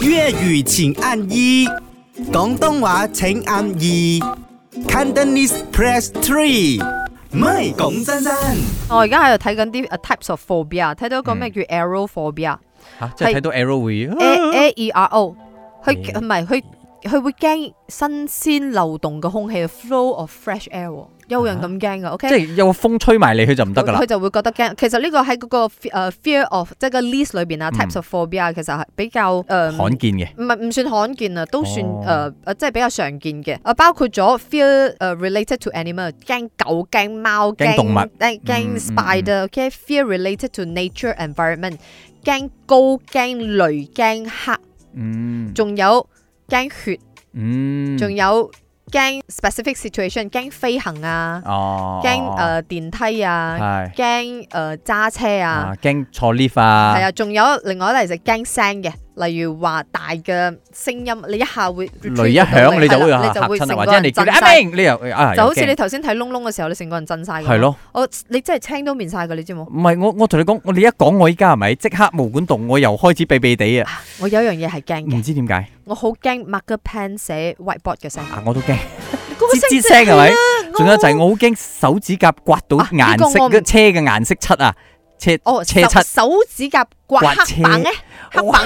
粵語請按一，廣東話請按二 ，Cantonese press 3。唔係講真真。 我而家喺度睇緊啲types of phobia， 睇到一個咩叫 aerophobia， 即係睇到 arrow 會 AERO， 佢唔係佢會驚新鮮流動嘅空氣 ，flow of fresh air。有人咁驚噶 ，OK？ 即係有個風吹埋你，佢就唔得噶啦。 佢就會覺得驚。其實呢個喺嗰個fear of 即係個 list 裏邊啊 ，types of phobia 其實係比較罕見嘅。 唔算罕見啊，都算即係比較常見嘅。包括咗 fear related to animal， 驚狗、驚貓、 驚動物、 驚 spider，OK？fear related to nature environment， 驚高、驚雷、驚黑，仲有驚血，仲有。驚 specific situation， 驚飛行啊，驚電梯啊，驚揸車啊， 驚坐 lift 啊， 係啊，仲有另外一類就驚聲嘅，例如話大嘅聲音，你一下會雷一響你就會嚇親，或者人哋叫你阿明，你又就好似你頭先睇窿窿嘅時候，你成個人震晒。 係咯， 你真係青都面晒㗎，你知冇？唔係我同你講，你一講我依家係咪即刻毛管動，我又開始避避地啊！ 我有樣嘢係驚嘅， 唔知點解， 我好驚 marker pen 寫 whiteboard 嘅聲。 我都驚。吱吱聲係咪？仲有就係我好驚手指甲刮到顏色嘅車嘅顏色漆啊！車漆手指甲刮黑板咧，黑板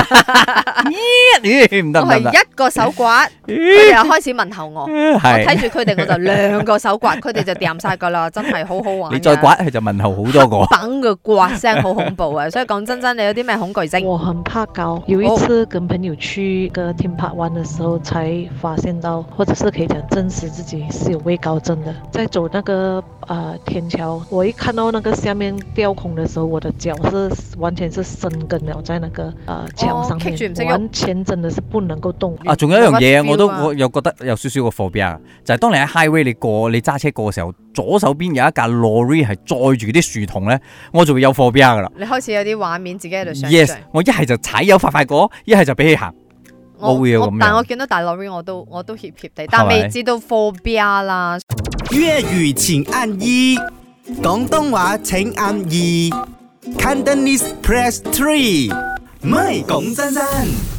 唔得唔得， 我係一個手刮，佢哋又開始問候我，我睇住佢哋我就兩個手刮，佢哋就掂晒噶啦，真係好好玩。 你再刮佢就問候好多個。 黑板嘅刮聲好恐怖啊！所以講真，你有啲咩恐懼症？ 我很怕高，有一次跟朋友去個 theme park 玩的時候，才發現到，或者是可以講證實自己是有畏高症的。在走那個天橋，我一看到那個下面吊空的時候，我的腳是完全是生根了在那個牆上面，完全真的是不能夠動。 仲有一樣嘢我又覺得有少少個 phobia，就係當你喺 highway 你揸車過嘅時候，左手邊有一架 lorry 係載住啲樹叢咧，我就會有 phobia 噶啦。 你開始有啲畫面自己喺度想像。 Yes， 我一係就踩油快過，一係就俾佢行。我會有咁樣。 但我見到大 lorry 我都怯怯地，但未知道 phobia 啦。 粵語請按一，廣東話請按二 ，Cantonese press 3。唔係講真真。